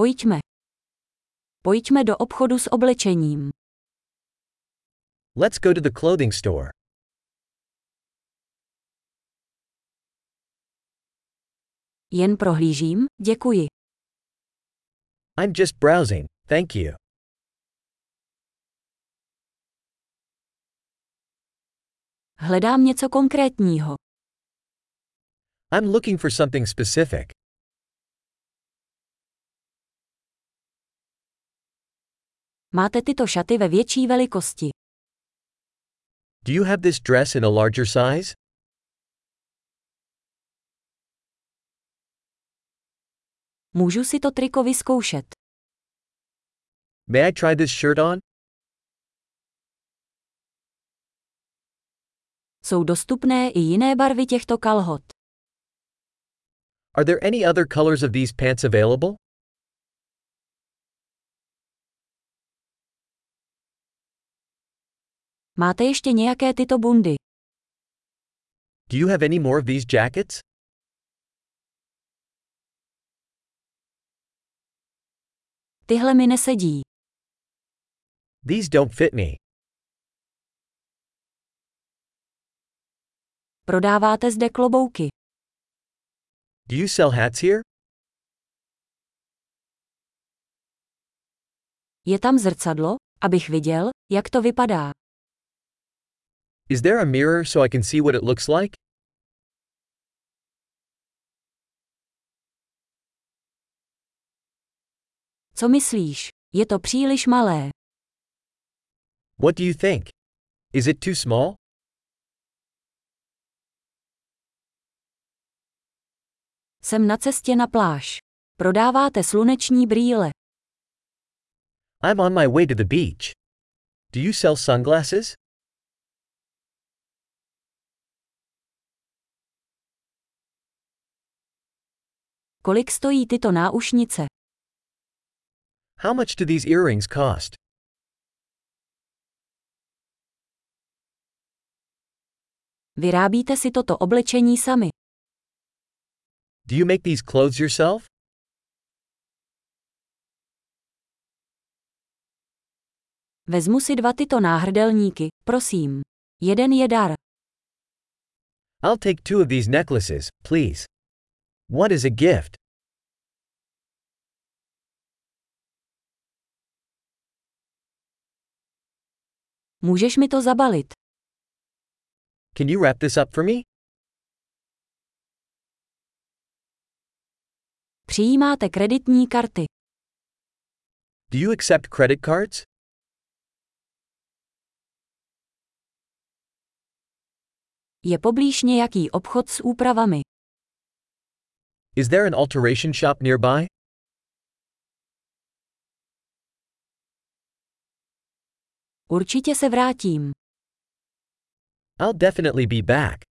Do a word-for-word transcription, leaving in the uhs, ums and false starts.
Pojďme. Pojďme do obchodu s oblečením. Let's go to the clothing store. Jen prohlížím, děkuji. I'm just browsing, thank you. Hledám něco konkrétního. I'm looking for something specific. Máte tyto šaty ve větší velikosti. Do you have this dress in a larger size? Můžu si to triko vyzkoušet. May I try this shirt on? Jsou dostupné i jiné barvy těchto kalhot. Are there any other colors of these pants available? Máte ještě nějaké tyto bundy? Do you have any more of these jackets? Tyhle mi nesedí. These don't fit me. Prodáváte zde klobouky. Do you sell hats here? Je tam zrcadlo, abych viděl, jak to vypadá. Is there a mirror so I can see what it looks like? Co myslíš? Je to příliš malé. What do you think? Is it too small? Jsem na cestě na pláž. Prodáváte sluneční brýle. I'm on my way to the beach. Do you sell sunglasses? Kolik stojí tyto náušnice? How much do these earrings cost? Vyrábíte si toto oblečení sami. Do you make these clothes yourself? Vezmu si dva tyto náhrdelníky, prosím. Jeden je dar. I'll take two of these necklaces, please. What is a gift? Můžeš mi to zabalit? Can you wrap this up for me? Přijímáte kreditní karty. Do you accept credit cards? Je poblíž nějaký obchod s úpravami. Is there an alteration shop nearby? Určitě se vrátím. I'll definitely be back.